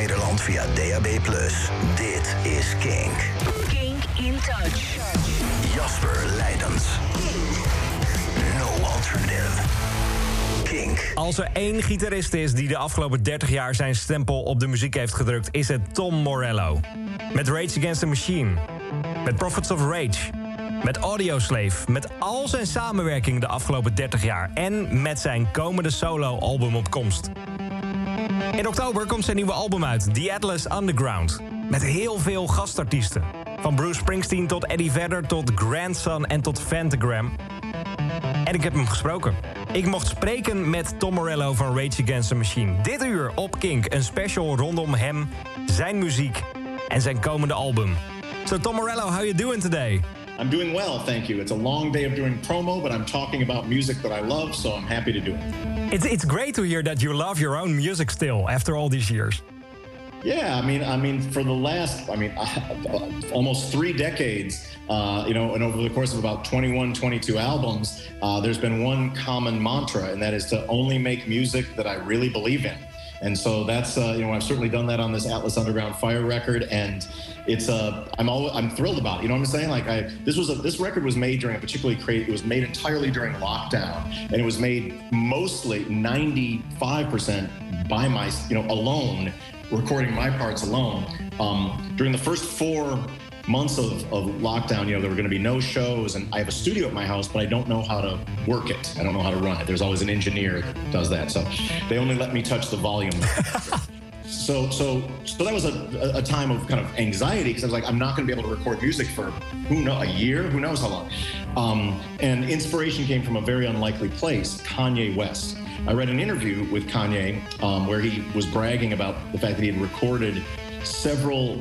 Nederland via DAB+. Dit is Kink. Kink in Touch. Jasper Leidens. No alternative. Kink. Als er één gitarist is die de afgelopen 30 jaar zijn stempel op de muziek heeft gedrukt, is het Tom Morello. Met Rage Against the Machine. Met Prophets of Rage. Met Audioslave. Met al zijn samenwerking de afgelopen 30 jaar. En met zijn komende solo-album op komst. In oktober komt zijn nieuwe album uit, The Atlas Underground. Met heel veel gastartiesten. Van Bruce Springsteen tot Eddie Vedder tot Grandson en tot Phantogram. En ik heb hem gesproken. Ik mocht spreken met Tom Morello van Rage Against the Machine. Dit uur op Kink, een special rondom hem, zijn muziek en zijn komende album. So Tom Morello, how you doing today? I'm doing well, thank you. It's a long day of doing promo, but I'm talking about music that I love, so I'm happy to do it. It's great to hear that you love your own music still after all these years. Yeah, I mean, for the last, almost 3 decades, and over the course of about 21, 22 albums, there's been one common mantra, and that is to only make music that I really believe in. And so that's, I've certainly done that on this Atlas Underground Fire record, and it's, I'm thrilled about it. You know what I'm saying? Like, this record was made during a particularly crazy, it was made entirely during lockdown, and it was made mostly 95% by my, alone, recording my parts alone. During the first 4 months of lockdown, there were going to be no shows, and I have a studio at my house, but I don't know how to work it. I don't know how to run it. There's always an engineer that does that, so they only let me touch the volume. So that was a time of kind of anxiety, because I was like, I'm not going to be able to record music for a year, who knows how long. And inspiration came from a very unlikely place, Kanye West. I read an interview with Kanye where he was bragging about the fact that he had recorded several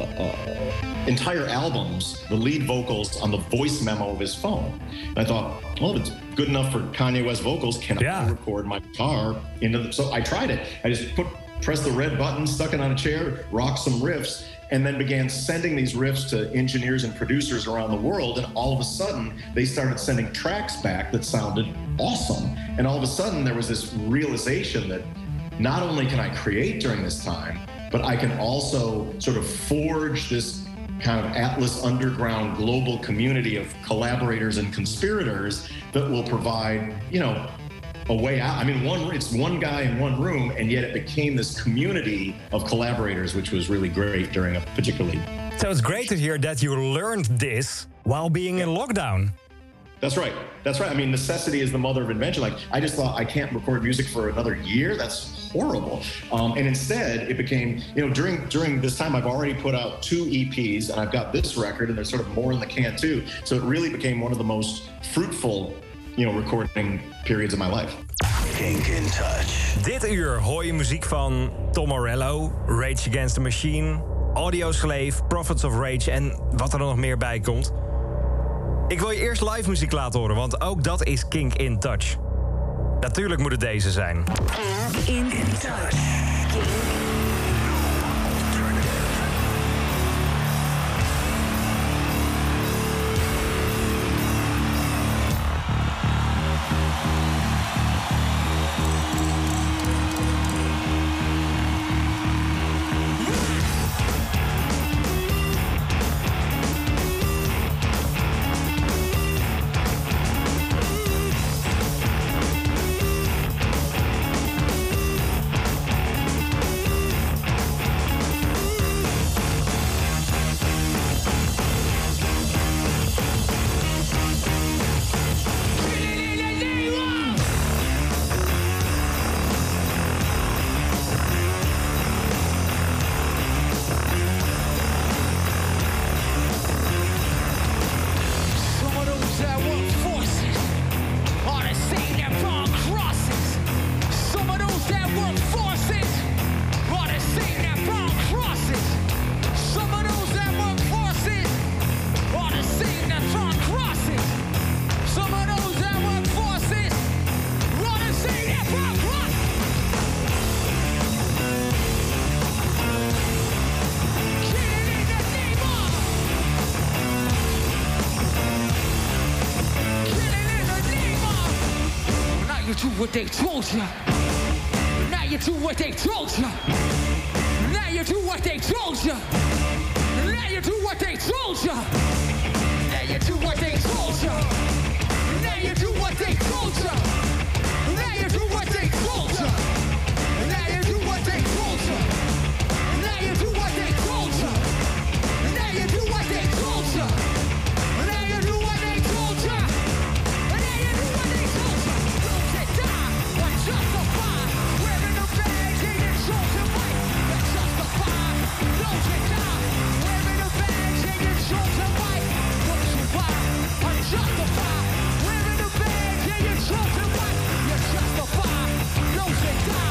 entire albums, the lead vocals on the voice memo of his phone. And I thought, well, if it's good enough for Kanye West vocals, can I record my guitar into so I tried it. I just pressed the red button, stuck it on a chair, rocked some riffs, and then began sending these riffs to engineers and producers around the world. And all of a sudden, they started sending tracks back that sounded awesome. And all of a sudden, there was this realization that not only can I create during this time, but I can also sort of forge this kind of Atlas Underground global community of collaborators and conspirators that will provide, a way out. I mean, it's one guy in one room, and yet it became this community of collaborators, which was really great during a particularly... So it's great to hear that you learned this while being in lockdown. That's right. I mean, necessity is the mother of invention. Like, I just thought I can't record music for another year. That's horrible. And instead, it became, during this time, I've already put out 2 EPs, and I've got this record, and there's sort of more in the can too. So it really became one of the most fruitful, recording periods of my life. Kink in Touch. Dit uur hoor je muziek van Tom Morello, Rage Against the Machine, Audioslave, Prophets of Rage en wat er nog meer bij komt. Ik wil je eerst live muziek laten horen, want ook dat is Kink in Touch. Natuurlijk moet het deze zijn. Kink in Touch. Kink. what they told ya. Now you do what they told ya. Now Now you do what they told you. Now you do what they told you. Now you do what they told you. Now you do what they told you. Now you do what they told you. Now you do what they told you. Now you do what they told you. Now you do what they told you. Now you do what they told you. Now you do what they told you. Lose it, die, or justify. Wearing the badge and your chosen right. You're justified. Lose it, die. Wearing the badge and your chosen right. Don't survive, unjustified. Wearing the badge and your chosen right. You're justified. Lose it, die.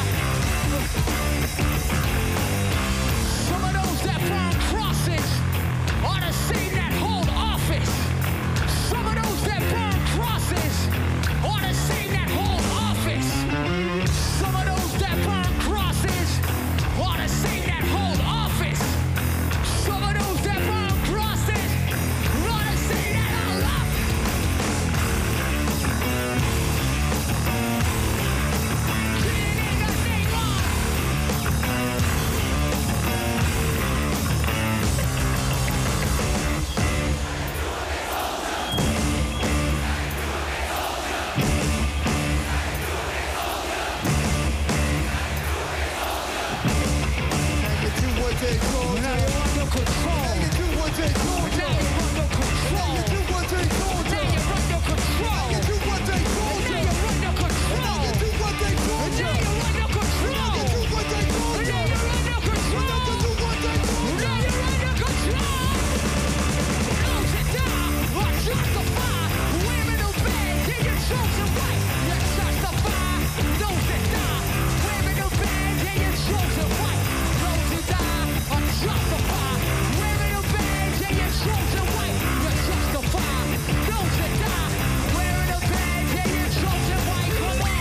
Some of those that burn crosses are the same that hold office. Some of those that burn crosses are the same that hold office. Some of those that burn crosses are the same that hold office. Some of those that burn crosses are the same that hold office. Ain't got name on. Now you're under control. Now you're under control. Now you're under control. Now you're under control. Now you're under control. Now you're under control. Now you're under control. Lose it down or justify. Wearing a badge and your chosen right. You're justified. Lose it down. Wearing a badge and your chosen right. Lose it down or justify. Wearing a badge and your chosen right. You're justified. Lose it down. Wearing a badge and your chosen right. Come on.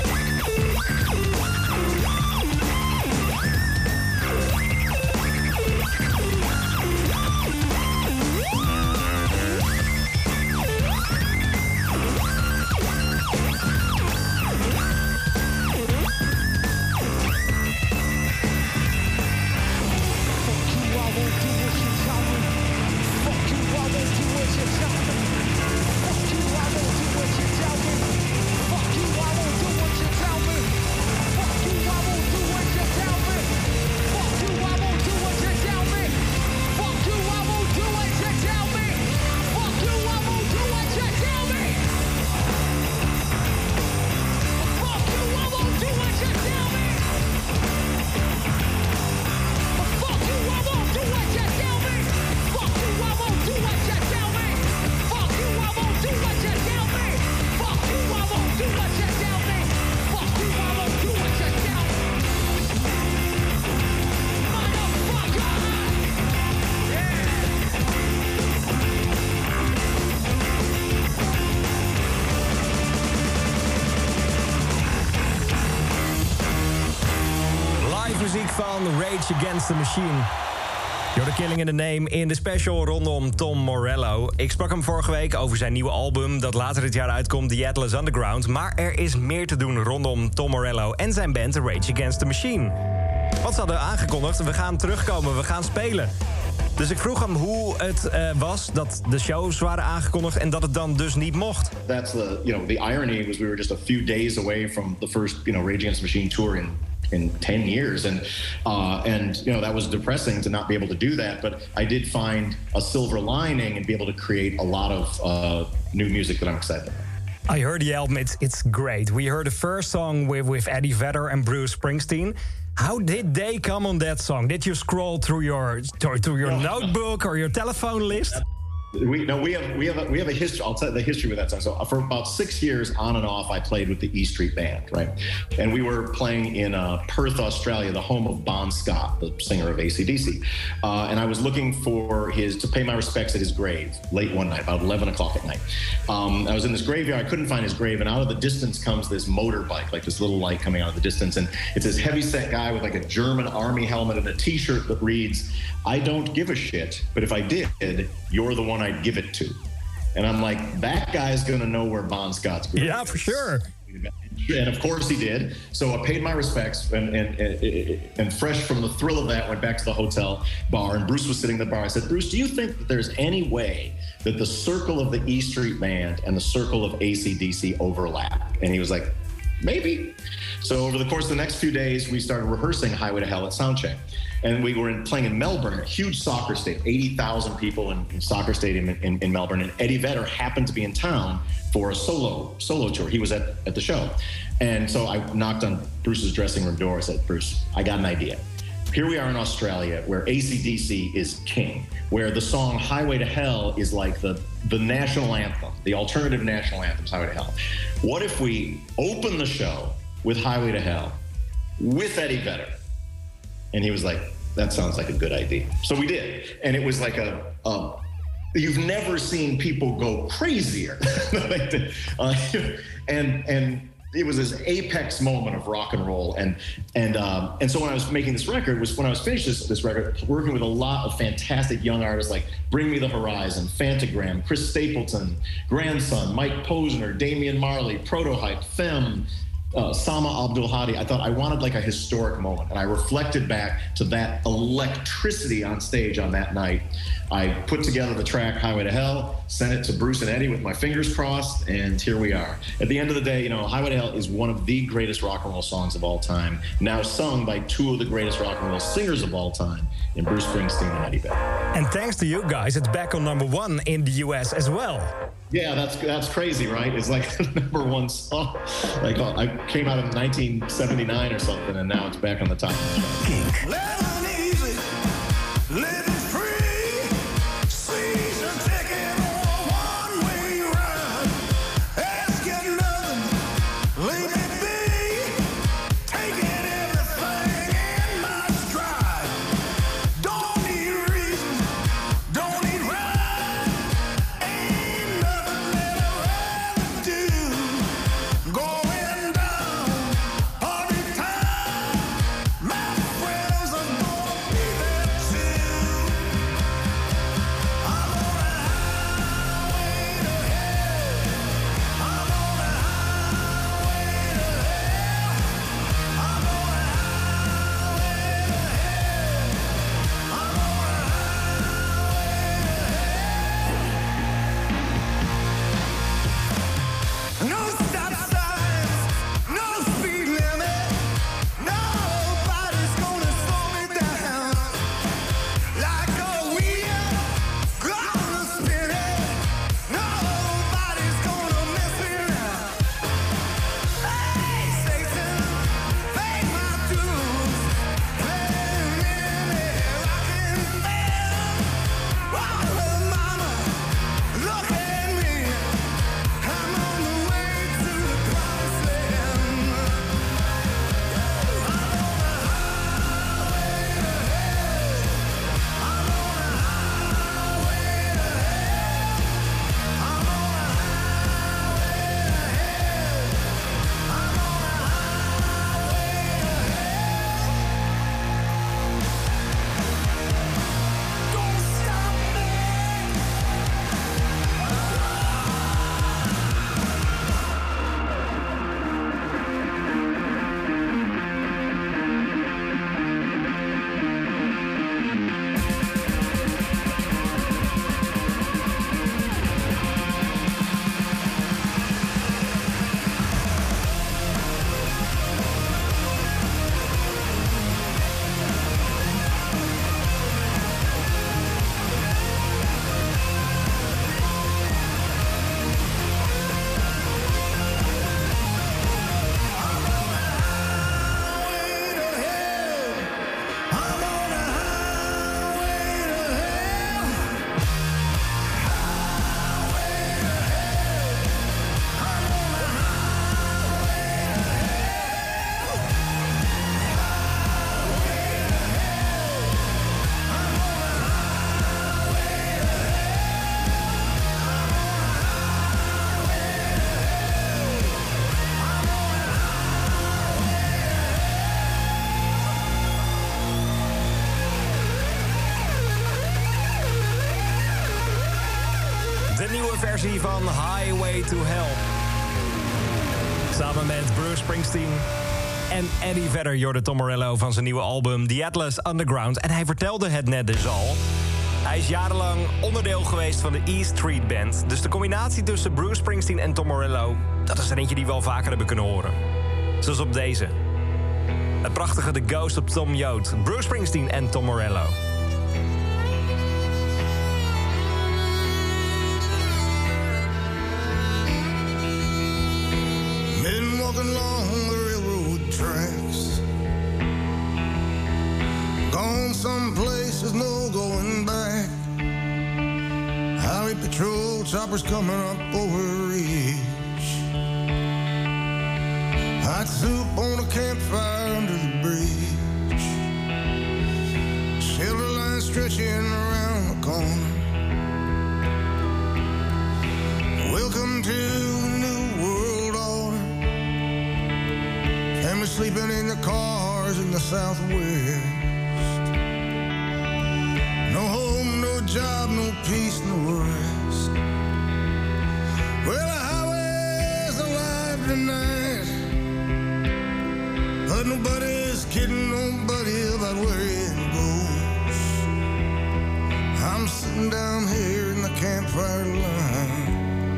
Muziek van Rage Against the Machine. You're the Killing in the Name in de special rondom Tom Morello. Ik sprak hem vorige week over zijn nieuwe album dat later dit jaar uitkomt, The Atlas Underground. Maar er is meer te doen rondom Tom Morello en zijn band Rage Against the Machine. Wat ze hadden aangekondigd, we gaan terugkomen, we gaan spelen. Dus ik vroeg hem hoe het was dat de shows waren aangekondigd en dat het dan dus niet mocht. That's the irony was we were just a few days away from the first Rage Against the Machine tour in 10 years, and that was depressing to not be able to do that. But I did find a silver lining and be able to create a lot of new music that I'm excited about. I heard the album; it's great. We heard the first song with Eddie Vedder and Bruce Springsteen. How did they come on that song? Did you scroll through your notebook or your telephone list? We have a history. I'll tell you the history with that song. So for about 6 years, on and off, I played with the E Street Band, right? And we were playing in Perth, Australia, the home of Bon Scott, the singer of AC/DC. And I was looking for to pay my respects at his grave late one night, about 11 o'clock at night. I was in this graveyard. I couldn't find his grave, and out of the distance comes this motorbike, like this little light coming out of the distance, and it's this heavy-set guy with like a German army helmet and a T-shirt that reads, "I don't give a shit, but if I did, you're the one I'd give it to." And I'm like, that guy's gonna know where Bon Scott's grave is. Yeah, for sure. And of course he did. So I paid my respects and fresh from the thrill of that, went back to the hotel bar, and Bruce was sitting at the bar. I said, Bruce, do you think that there's any way that the circle of the E Street Band and the circle of AC/DC overlap? And he was like, maybe. So over the course of the next few days, we started rehearsing Highway to Hell at Soundcheck. And we were playing in Melbourne, a huge soccer stadium, 80,000 people in soccer stadium in Melbourne. And Eddie Vedder happened to be in town for a solo tour. He was at the show. And so I knocked on Bruce's dressing room door. I said, Bruce, I got an idea. Here we are in Australia, where AC/DC is king, where the song Highway to Hell is like the national anthem, the alternative national anthem, Highway to Hell. What if we open the show with Highway to Hell with Eddie Vedder? And he was like, that sounds like a good idea. So we did. And it was like you've never seen people go crazier. And it was this apex moment of rock and roll. And so when I was making this record, when I was finished this record, working with a lot of fantastic young artists like Bring Me the Horizon, Phantogram, Chris Stapleton, Grandson, Mike Posner, Damian Marley, Prototype, Femme, Sama Abdul Hadi. I thought I wanted like a historic moment, and I reflected back to that electricity on stage on that night. I put together the track Highway to Hell, sent it to Bruce and Eddie with my fingers crossed, and here we are. At the end of the day, Highway to Hell is one of the greatest rock and roll songs of all time, now sung by two of the greatest rock and roll singers of all time, in Bruce Springsteen and Eddie Vedder. And thanks to you guys, it's back on #1 in the US as well. Yeah, that's crazy, right? It's like the #1 song. Like I came out in 1979 or something, and now it's back on the top. Kink. Versie van Highway to Hell. Samen met Bruce Springsteen en Eddie Vedder, Jordan Tom Morello van zijn nieuwe album The Atlas Underground. En hij vertelde het net dus al. Hij is jarenlang onderdeel geweest van de E Street Band. Dus de combinatie tussen Bruce Springsteen en Tom Morello, dat is er eentje die we al vaker hebben kunnen horen. Zoals op deze. Het prachtige The Ghost op Tom Joad. Bruce Springsteen en Tom Morello. Been walking along the railroad tracks, gone someplace there's no going back. Highway patrol choppers coming up over a ridge. Hot soup on a campfire under the bridge. Shelter line stretching around the corner. Welcome to the new world order. Families sleeping in the cars in the Southwest. No home, no job, no peace, no rest. Well, the highway's alive tonight, but nobody's kidding nobody about where it goes. I'm sitting down here in the campfire line,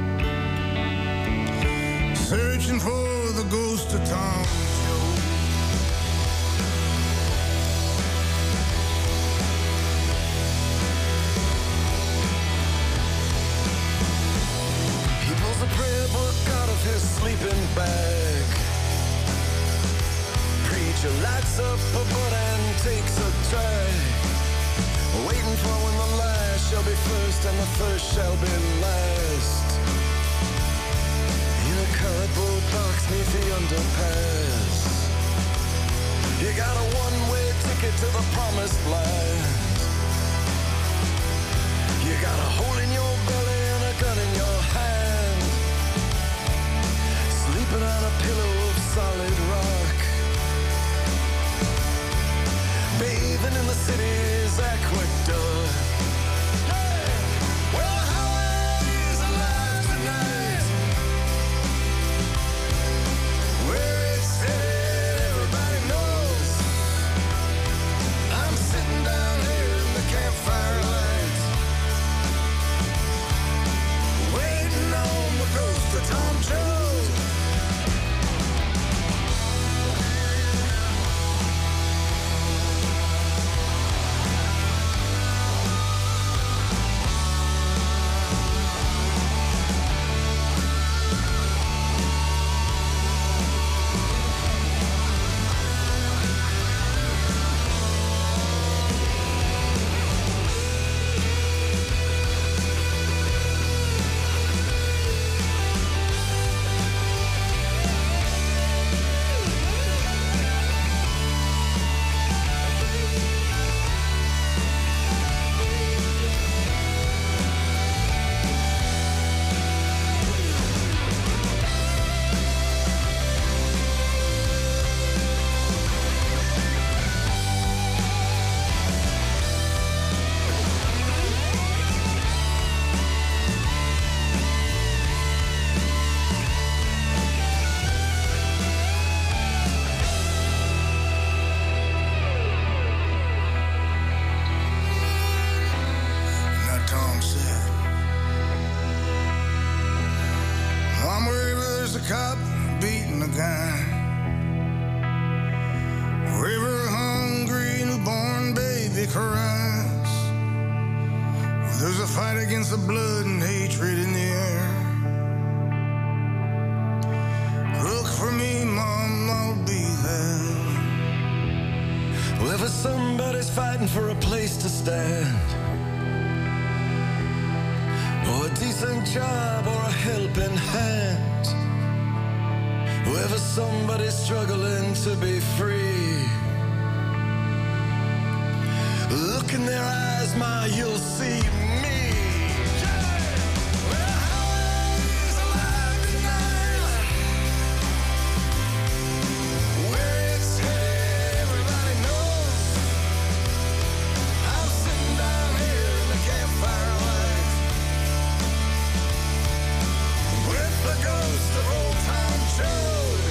searching for the ghost of Tom Joad. He pulls a prayer book out of his sleeping bag. Preacher lights up a butt and takes a drag, waiting for when the last shall be first and the first shall be last. Cardboard box neath the underpass. You got a one-way ticket to the promised land. You got a hole in your belly and a gun in your hand. Sleeping on a pillow of solid rock. Bathing in the city's aqueduct. Hey! Well, the highway's alive tonight. Where it's headed, everybody knows. I'm sitting down here in the campfire light, waiting on the ghost of Tom Joad. For a place to stand, or a decent job, or a helping hand. Wherever somebody's struggling to be free, look in their eyes, ma, you'll see me. Ghost of old Tom Joad.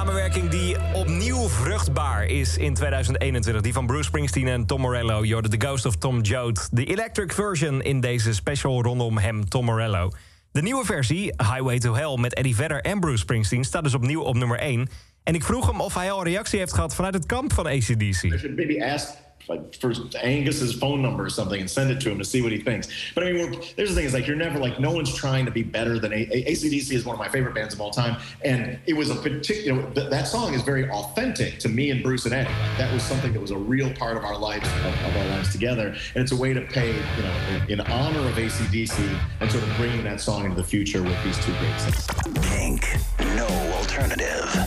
samenwerking die opnieuw vruchtbaar is in 2021. Die van Bruce Springsteen en Tom Morello. Je hoorde The Ghost of Tom Joad. De electric version in deze special rondom hem, Tom Morello. De nieuwe versie, Highway to Hell, met Eddie Vedder en Bruce Springsteen... staat dus opnieuw op nummer 1. En ik vroeg hem of hij al een reactie heeft gehad vanuit het kamp van AC/DC. I should maybe ask for Angus's phone number or something and send it to him to see what he thinks. But I mean, there's the thing is, like, you're never, like, no one's trying to be better than AC/DC is one of my favorite bands of all time. And it was a particular, that song is very authentic to me and Bruce and Eddie. That was something that was a real part of our lives, of our lives together. And it's a way to pay, in honor of AC/DC and sort of bringing that song into the future with these two great singers. Kink, no alternative.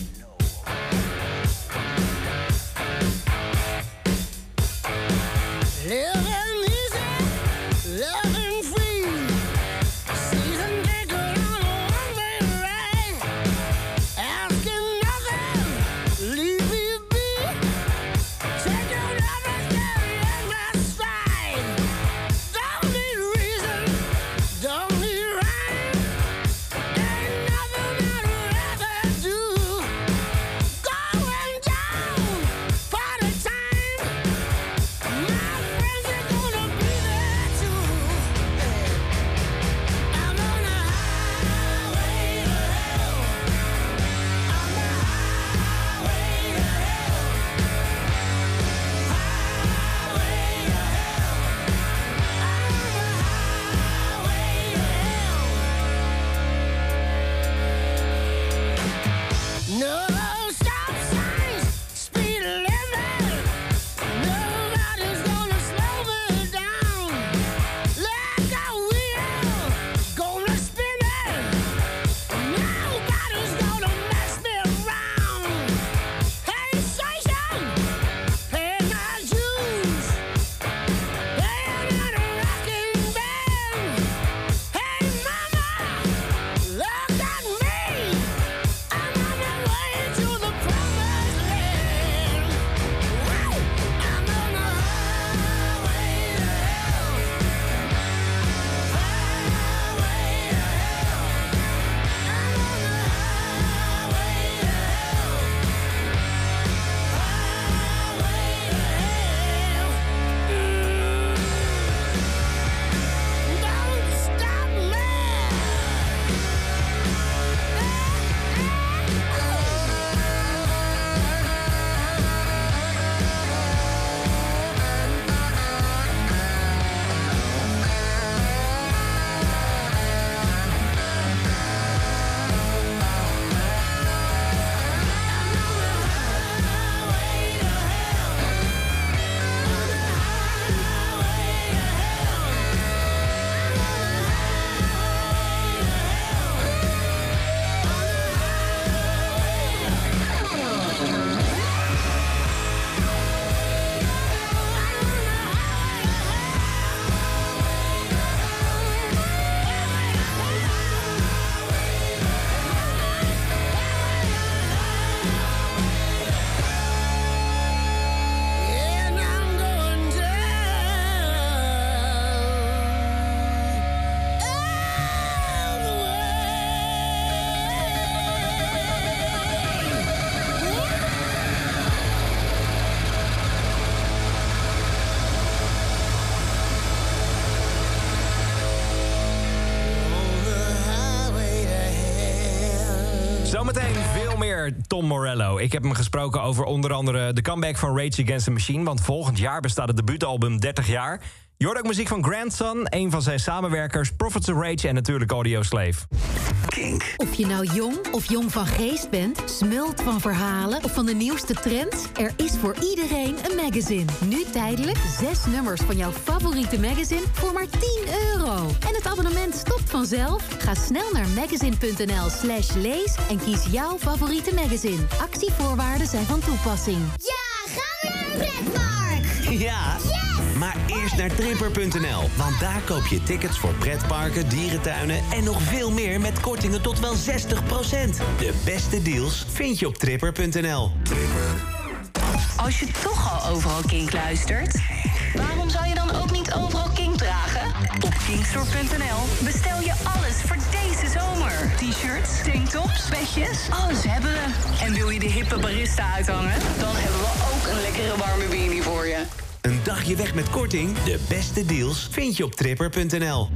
Living easy, loving free. Season ticket on a one-way ride. Asking nothing, leave me be. Take your love and carry in my stride. Don't need reason, don't need rhyme. Ain't nothing I'd rather do. Going down, party time. My friends are gonna be there too. I'm on a highway to hell. On the highway to hell. Highway to hell. I'm on the highway to hell. No stop signs, speed limit. Nobody's gonna slow me down. Like a wheel, gonna spin it. Nobody's gonna mess me around. Hey, station, pay my dues. Playing in a rocking band. Hey, mama, look at me. I'm on my way to the promised land. Woo! I'm on the highway to hell. Highway to hell. I'm on the highway to hell. Highway to hell. Don't stop me. And I'm going down all the Zometeen veel meer Tom Morello. Ik heb hem gesproken over onder andere de comeback van Rage Against the Machine... want volgend jaar bestaat het debuutalbum 30 jaar. Je hoort ook muziek van Grandson, een van zijn samenwerkers... Prophets of Rage en natuurlijk Audioslave. Kink. Of je nou jong of jong van geest bent, smult van verhalen of van de nieuwste trends... er is voor iedereen een magazine. Nu tijdelijk 6 nummers van jouw favoriete magazine voor maar €10. En het abonnement stopt vanzelf? Ga snel naar magazine.nl/lees en kies jouw favoriete magazine. Actievoorwaarden zijn van toepassing. Ja, gaan we naar een pretpark! Ja, maar eerst naar tripper.nl. Want daar koop je tickets voor pretparken, dierentuinen en nog veel meer met kortingen tot wel 60%. De beste deals vind je op tripper.nl. Als je toch al overal Kink luistert, waarom zou je dan ook niet overal Kink dragen? Op Kink Drugstore.nl bestel je alles voor deze zomer. T-shirts, tanktops, petjes, alles hebben we. En wil je de hippe barista uithangen? Dan hebben we ook een lekkere warme beanie voor je. Een dagje weg met korting? De beste deals vind je op tripper.nl.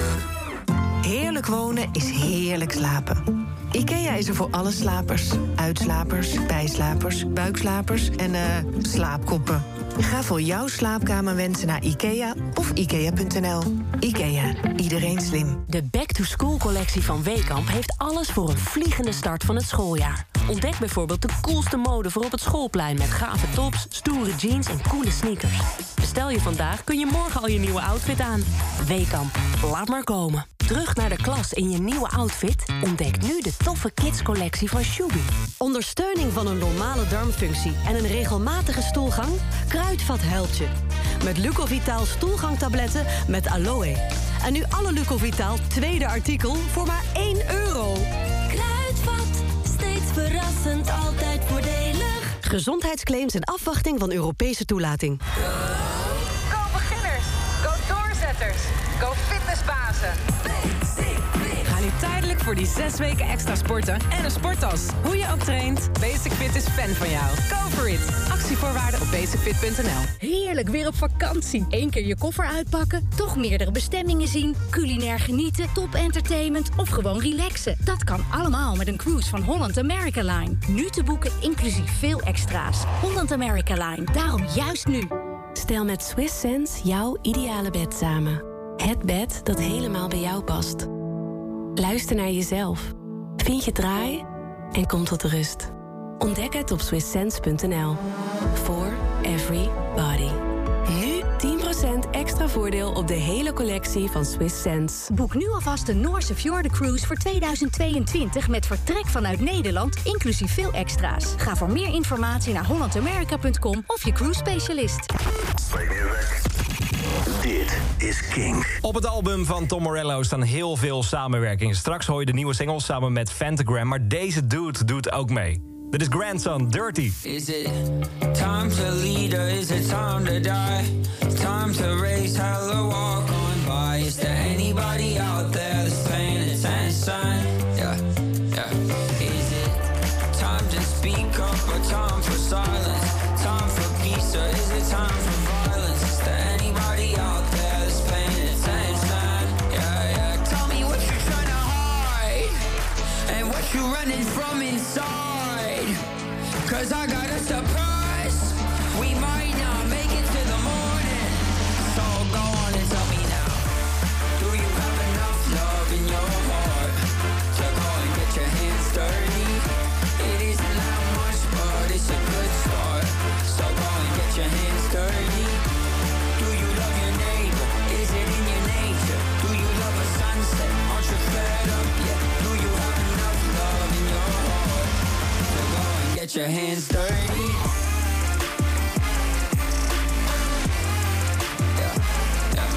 Heerlijk wonen is heerlijk slapen. IKEA is er voor alle slapers. Uitslapers, bijslapers, buikslapers en slaapkoppen. Ga voor jouw slaapkamerwensen naar IKEA of IKEA.nl. IKEA, iedereen slim. De Back-to-School-collectie van Weekamp heeft alles voor een vliegende start van het schooljaar. Ontdek bijvoorbeeld de coolste mode voor op het schoolplein... met gave tops, stoere jeans en coole sneakers. Bestel je vandaag, kun je morgen al je nieuwe outfit aan. Weekamp, laat maar komen. Terug naar de klas in je nieuwe outfit? Ontdek nu de toffe kidscollectie van Shubi. Ondersteuning van een normale darmfunctie en een regelmatige stoelgang? Kruidvat helpt je. Met Lucovitaal stoelgangtabletten met aloe. En nu alle Lucovitaal tweede artikel voor maar €1. Kruidvat, steeds verrassend, altijd voordelig. Gezondheidsclaims en afwachting van Europese toelating. Go beginners, go doorzetters, go fitnessbazen. Ga nu tijdelijk voor die 6 weken extra sporten en een sporttas. Hoe je ook traint, Basic Fit is fan van jou. Go for it. Actievoorwaarden op basicfit.nl. Heerlijk weer op vakantie. 1 keer je koffer uitpakken, toch meerdere bestemmingen zien, culinair genieten, top entertainment of gewoon relaxen. Dat kan allemaal met een cruise van Holland America Line. Nu te boeken inclusief veel extra's. Holland America Line, daarom juist nu. Stel met Swiss Sense jouw ideale bed samen. Het bed dat helemaal bij jou past. Luister naar jezelf. Vind je draai en kom tot rust. Ontdek het op swisssense.nl. For every body. Nu 10% extra voordeel op de hele collectie van Swiss Sense. Boek nu alvast de Noorse Fjorden-cruise voor 2022... met vertrek vanuit Nederland, inclusief veel extra's. Ga voor meer informatie naar hollandamerica.com of je cruise specialist. Dit is Kink. Op het album van Tom Morello staan heel veel samenwerkingen. Straks hoor je de nieuwe singles samen met Fantagram, maar deze dude doet ook mee. Dit is Grandson, Dirty. Is it time to lead or is it time to die? Time to race hell or walk on by. Is there anybody out there that's paying attention? Yeah, yeah. Is it time to speak up or time for silence? Time for peace or is it time for violence? Is there anybody out there that's paying attention? Yeah, yeah. Tell me what you're trying to hide and what you're running from inside. 'Cause I got a surprise. We might not make it to the morning. So go on and tell me now. Do you have enough love in your heart to go and get your hands dirty? It isn't that much, but it's a good start. So go and get your hands dirty. Do you love your neighbor? Is it in your nature? Do you love a sunset? Aren't you fed up yet? Do you have enough love in your heart to go and get your hands dirty? Yeah, yeah.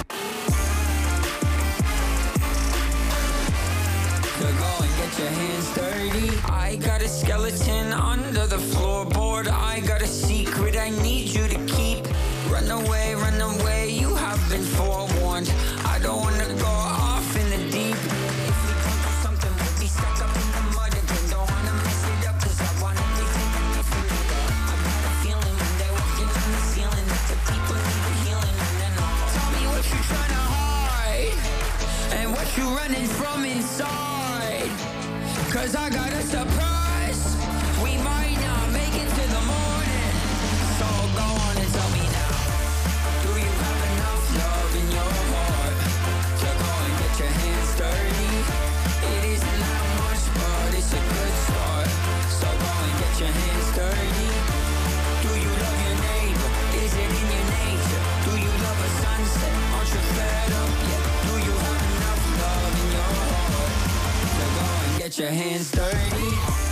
To go and get your hands dirty. I got a skeleton under the floorboard. I got a secret I need you to keep. Run away, you have been forewarned. I don't wanna go off in the deep. If we come to something, we'll be stuck up in the mud again. Don't wanna mess it up, 'cause I want everything I need from you. I got a feeling when they're walking on the ceiling that the people need a healing. And then tell me what you're trying to hide and what you're running from inside. 'Cause I got a surprise. We might not make it to the morning. So go on and tell me now. Do you have enough love in your heart to go and get your hands dirty? It isn't that much, but it's a good start. So go and get your hands dirty. Do you love your neighbor? Is it in your nature? Do you love a sunset? Aren't you fed up yet? Do you have enough love in your heart to go and get your hands dirty?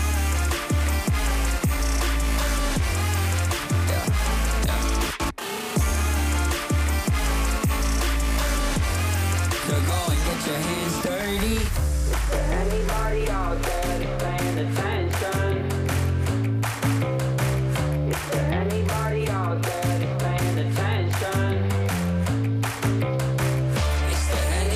To go and get your hands dirty. Is there anybody out there that's paying attention? Is there anybody out there that's paying attention? Is there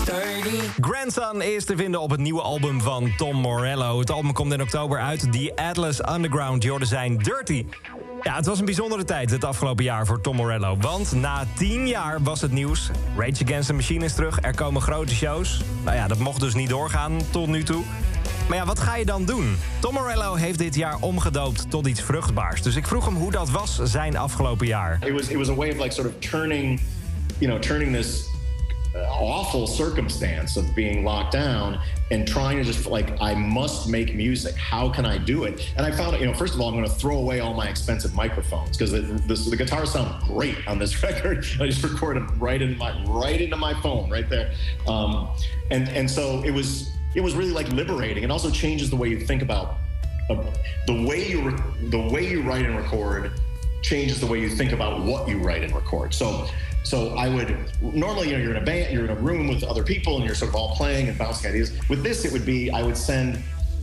sturdy. Grandson is te vinden op het nieuwe album van Tom Morello. Het album komt in oktober uit. The Atlas Underground, je hoorde zijn Dirty. Ja, het was een bijzondere tijd het afgelopen jaar voor Tom Morello. Want na 10 jaar was het nieuws. Rage Against the Machine is terug, er komen grote shows. Nou ja, dat mocht dus niet doorgaan tot nu toe. Maar ja, wat ga je dan doen? Tom Morello heeft dit jaar omgedoopt tot iets vruchtbaars. Dus ik vroeg hem hoe dat was zijn afgelopen jaar. It was a way of like sort of turning this awful circumstance of being locked down and trying to just like, I must make music. How can I do it? And I found, first of all, I'm going to throw away all my expensive microphones because the guitars sound great on this record. I just recorded them right into my phone right there. And so it was really like liberating. It also changes the way you think about the way you write and record changes the way you think about what you write and record. So I would normally, you're in a band, you're in a room with other people, and you're sort of all playing and bouncing ideas. With this, it would be I would send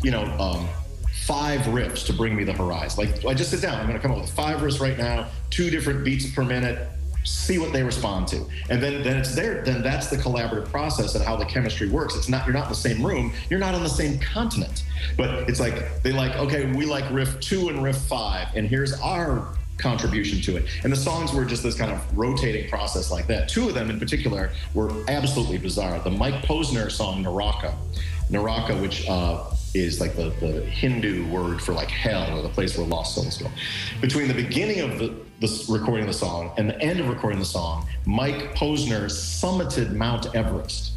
5 riffs to bring me the horizon. Like I just sit down, I'm going to come up with 5 riffs right now, 2 different beats per minute. See what they respond to, and then it's there. Then that's the collaborative process and how the chemistry works. It's not, you're not in the same room, you're not on the same continent, but it's like they like, okay, we like riff 2 and riff 5, and here's our contribution to it. And the songs were just this kind of rotating process like that. 2 of them in particular were absolutely bizarre. The Mike Posner song Naraka, which is like the Hindu word for like hell, or the place where lost souls go. Between the beginning of the recording the song and the end of recording the song, Mike Posner summited Mount Everest.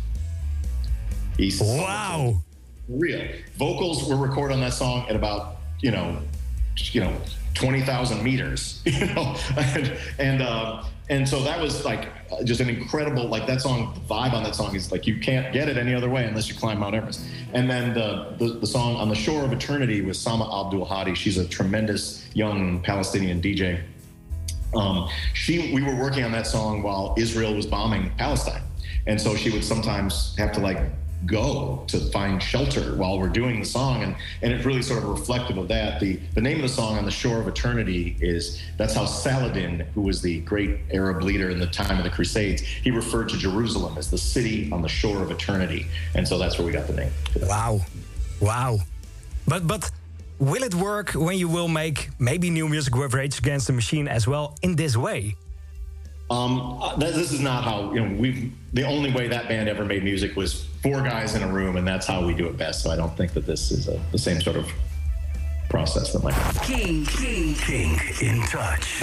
Wow. Real. Vocals were recorded on that song at about, 20,000 meters, and so that was like just an incredible, like that song, the vibe on that song is like you can't get it any other way unless you climb Mount Everest. And then the song On the Shore of Eternity with Sama Abdul Hadi. She's a tremendous young Palestinian DJ. We were working on that song while Israel was bombing Palestine, and so she would sometimes have to like go to find shelter while we're doing the song, and it's really sort of reflective of that. The name of the song, On the Shore of Eternity, that's how Saladin, who was the great Arab leader in the time of the Crusades, he referred to Jerusalem as the city on the shore of eternity, and so that's where we got the name. Wow. But will it work when you will make maybe new music with Rage Against the Machine as well in this way? This is not how, the only way that band ever made music was 4 guys in a room, and that's how we do it best. So I don't think that this is the same sort of process that might happen. King in touch.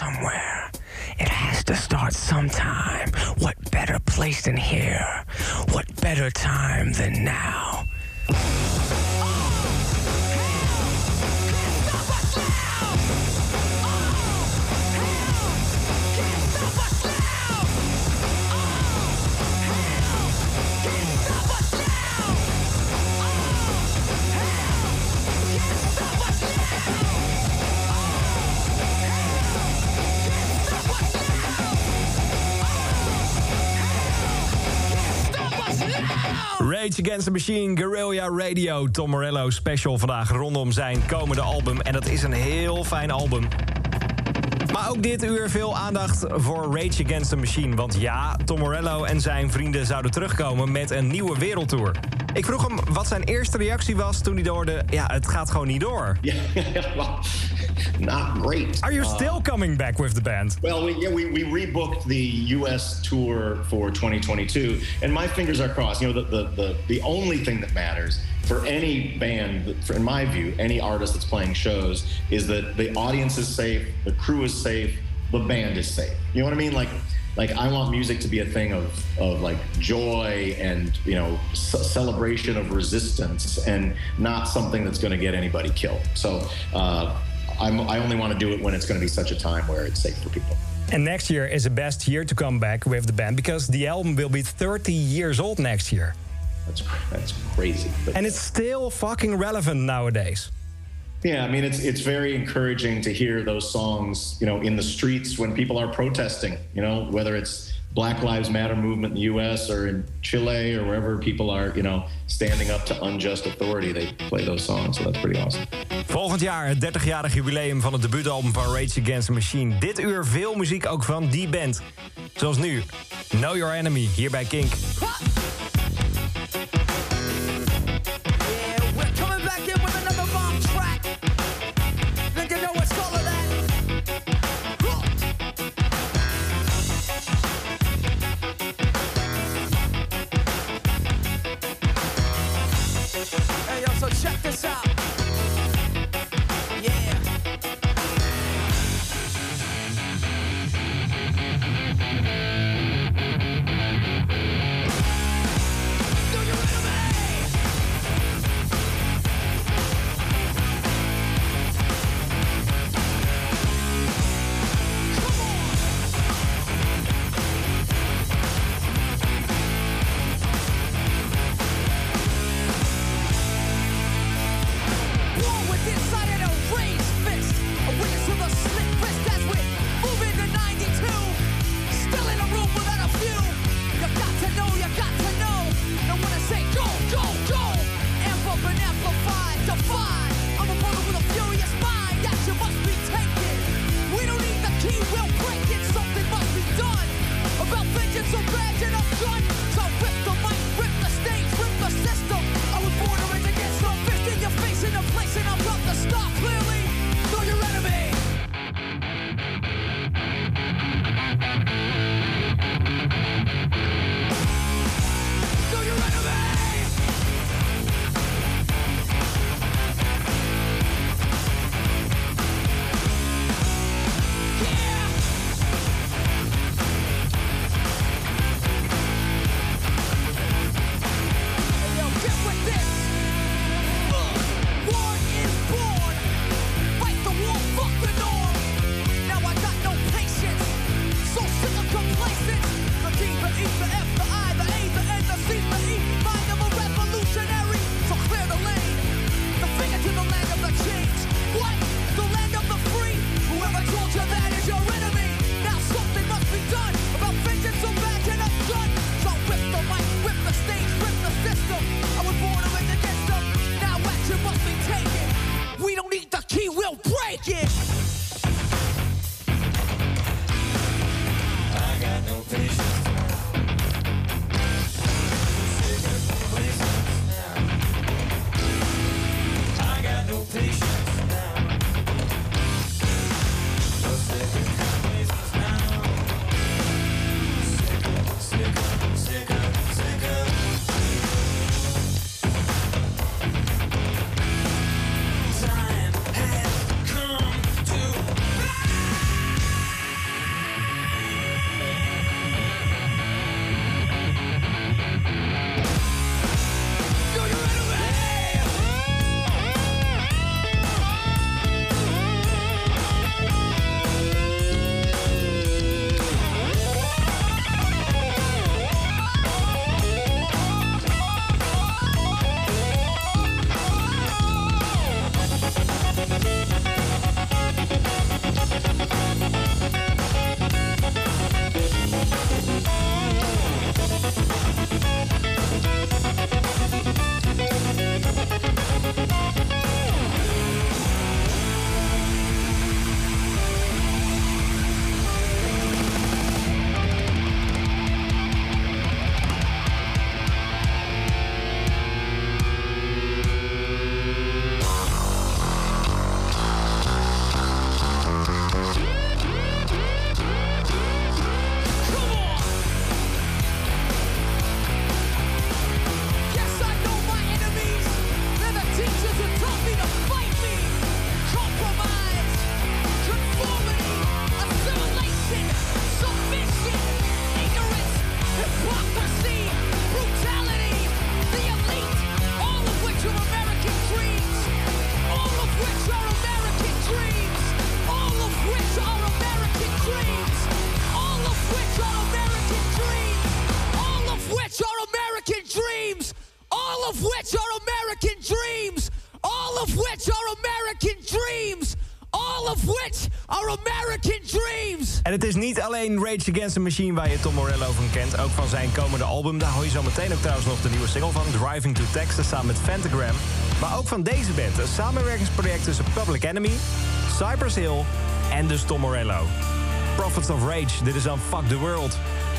somewhere. It has to start sometime. What better place than here? What better time than now? Rage Against the Machine, Guerrilla Radio, Tom Morello special vandaag rondom zijn komende album. En dat is een heel fijn album. Maar ook dit uur veel aandacht voor Rage Against the Machine. Want ja, Tom Morello en zijn vrienden zouden terugkomen met een nieuwe wereldtour. Ik vroeg hem wat zijn eerste reactie was toen hij hoorde... ja, het gaat gewoon niet door. Not great. Are you still coming back with the band? Well, we rebooked the U.S. tour for 2022, and my fingers are crossed. You know, the only thing that matters for any band, in my view, any artist that's playing shows, is that the audience is safe, the crew is safe, the band is safe. You know what I mean? Like I want music to be a thing of like joy and, you know, celebration of resistance, and not something that's going to get anybody killed. So I only want to do it when it's going to be such a time where it's safe for people. And next year is the best year to come back with the band, because the album will be 30 years old next year. That's crazy. And it's still fucking relevant nowadays. Yeah, I mean, it's very encouraging to hear those songs, you know, in the streets when people are protesting, you know, whether it's Black Lives Matter movement in the U.S. or in Chile or wherever people are, you know, standing up to unjust authority, they play those songs, so that's pretty awesome. Volgend jaar het 30-jarig jubileum van het debuutalbum van Rage Against the Machine. Dit uur veel muziek ook van die band. Zoals nu, Know Your Enemy, hier bij Kink. Check this out. Yeah. American dreams. En het is niet alleen Rage Against the Machine waar je Tom Morello van kent. Ook van zijn komende album. Daar hoor je zo meteen ook trouwens nog de nieuwe single van. Driving to Texas samen met Phantogram. Maar ook van deze band. Een samenwerkingsproject tussen Public Enemy, Cypress Hill en dus Tom Morello. Prophets of Rage. Dit is dan Fuck the World.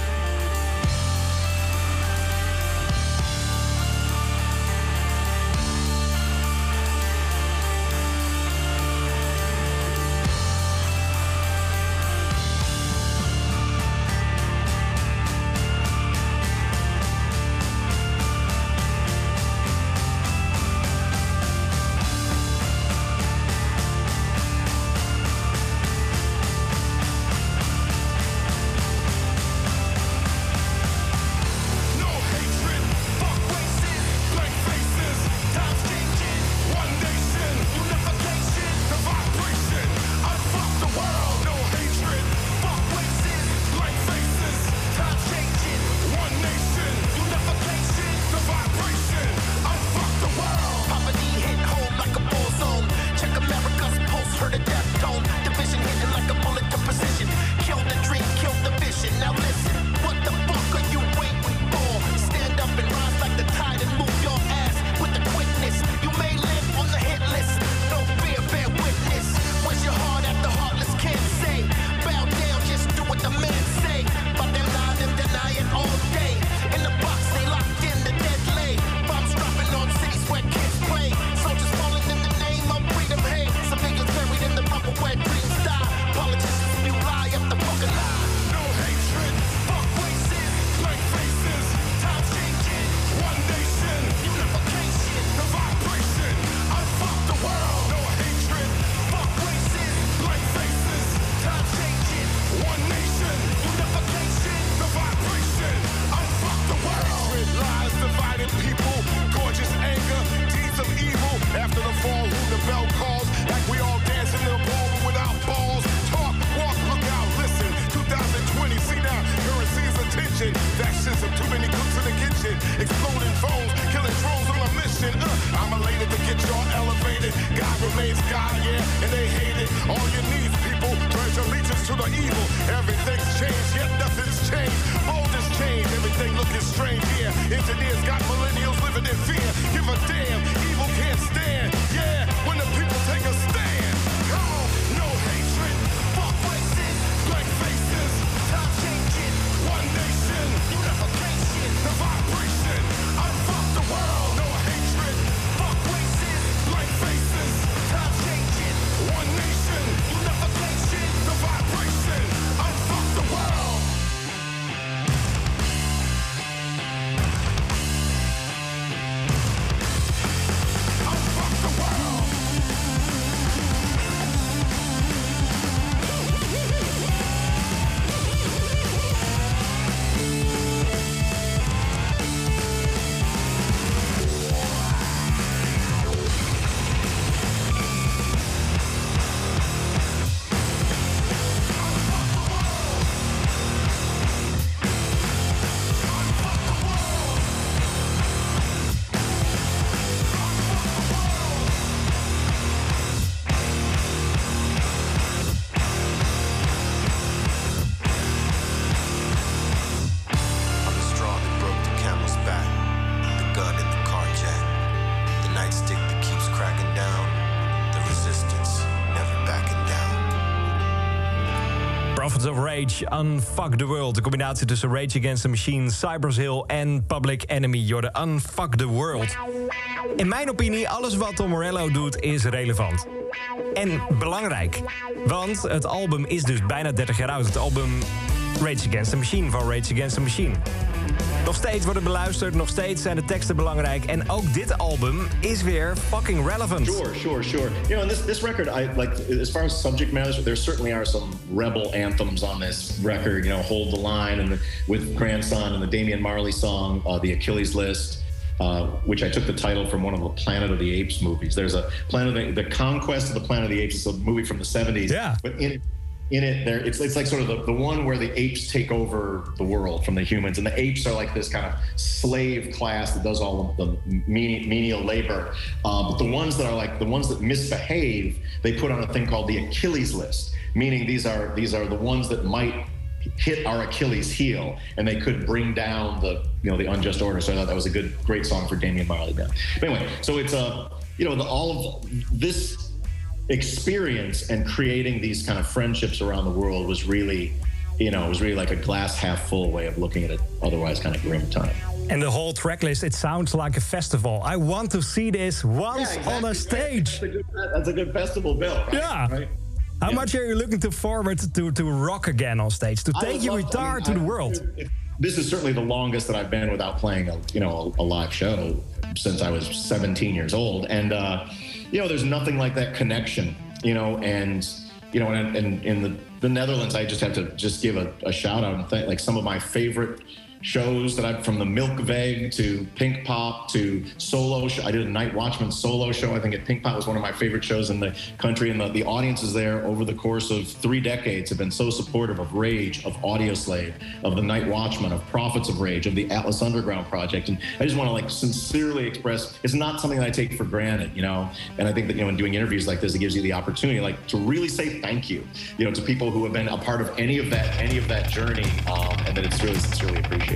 Prophets of Rage, Unfuck the World. De combinatie tussen Rage Against the Machine, Cypress Hill en Public Enemy. You're the Unfuck the World. In mijn opinie, alles wat Tom Morello doet is relevant. En belangrijk. Want het album is dus bijna 30 jaar oud. Het album Rage Against the Machine van Rage Against the Machine. Nog steeds wordt het beluisterd, nog steeds zijn de teksten belangrijk. En ook dit album is weer fucking relevant. Sure. You know, and this record, I like, as far as subject matters, there certainly are some rebel anthems on this record. You know, Hold the Line, and with Grandson, and the Damian Marley song, The Achilles List, which I took the title from one of the Planet of the Apes movies. There's a the Conquest of the Planet of the Apes is a movie from the 70s. Yeah. But in it, there it's like sort of the one where the apes take over the world from the humans, and the apes are like this kind of slave class that does all the menial labor. But the ones that are like the ones that misbehave, they put on a thing called the Achilles List. meaning these are the ones that might hit our Achilles heel, and they could bring down the unjust order. So I thought that was a great song for Damian Marley. But anyway, so it's all of this experience and creating these kind of friendships around the world was really, like a glass half full way of looking at an otherwise kind of grim time. And the whole track list, it sounds like a festival. I want to see this once on a stage. That's a good festival bill, right? Yeah. Right? How much are you looking forward to rock again on stage, to take your guitar to the world? This is certainly the longest that I've been without playing a live show since I was 17 years old. And, there's nothing like that connection, and in the Netherlands, I just have to give a shout out and thank, like, some of my favorite shows that I've, from the Milkveeg to Pinkpop to solo show. I did a Night Watchman solo show. I think at Pinkpop was one of my favorite shows in the country, and the audiences there over the course of 3 decades have been so supportive of Rage, of Audioslave, of the Night Watchman, of Prophets of Rage, of the Atlas Underground Project. And I just want to sincerely express, it's not something that I take for granted, and I think that, in doing interviews like this, it gives you the opportunity to really say thank you, to people who have been a part of any of that journey, and that it's really sincerely appreciated.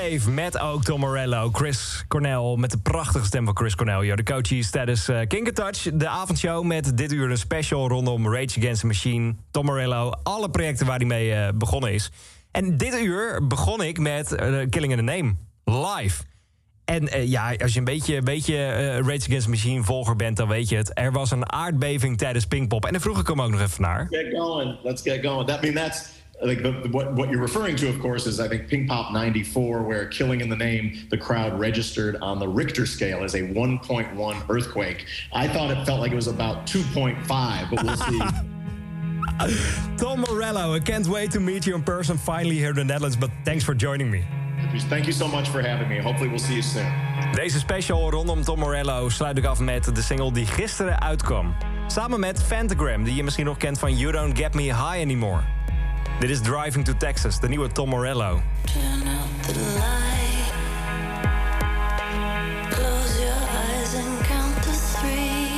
Slave met ook Tom Morello. Chris Cornell met de prachtige stem van Chris Cornell. De coaches tijdens Kink & Touch. De avondshow met dit uur een special rondom Rage Against the Machine. Tom Morello, alle projecten waar hij mee begonnen is. En dit uur begon ik met Killing in the Name, live. En als je een beetje Rage Against the Machine volger bent, dan weet je het. Er was een aardbeving tijdens Pinkpop. En daar vroeg ik hem ook nog even naar. Let's get going. That's like what you're referring to, of course, is I think Pinkpop 94, where Killing in the Name, the crowd registered on the Richter scale as a 1.1 earthquake. I thought it felt like it was about 2.5, but we'll see. Tom Morello, I can't wait to meet you in person finally here in the Netherlands, but thanks for joining me. Thank you so much for having me. Hopefully we'll see you soon. Deze special rondom Tom Morello sluit ik af met de single die gisteren uitkwam. Samen met Phantogram, die je misschien nog kent van You Don't Get Me High Anymore. Dit is Driving to Texas, de nieuwe Tom Morello. Turn out the light. Close your eyes and count to 3.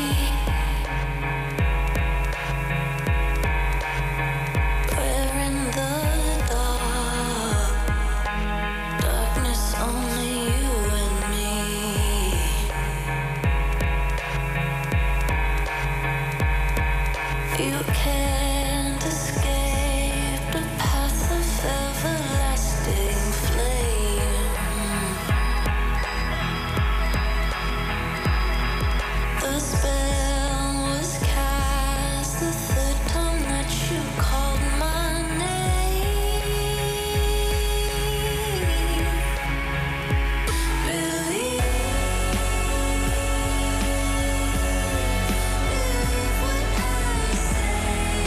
We're in the dark. Darkness, only you and me. You can't escape the path of everlasting flame. The spell was cast the third time that you called my name. Believe what I say.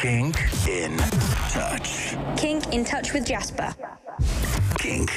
Kink in Touch. Kink in Touch with Jasper. Kink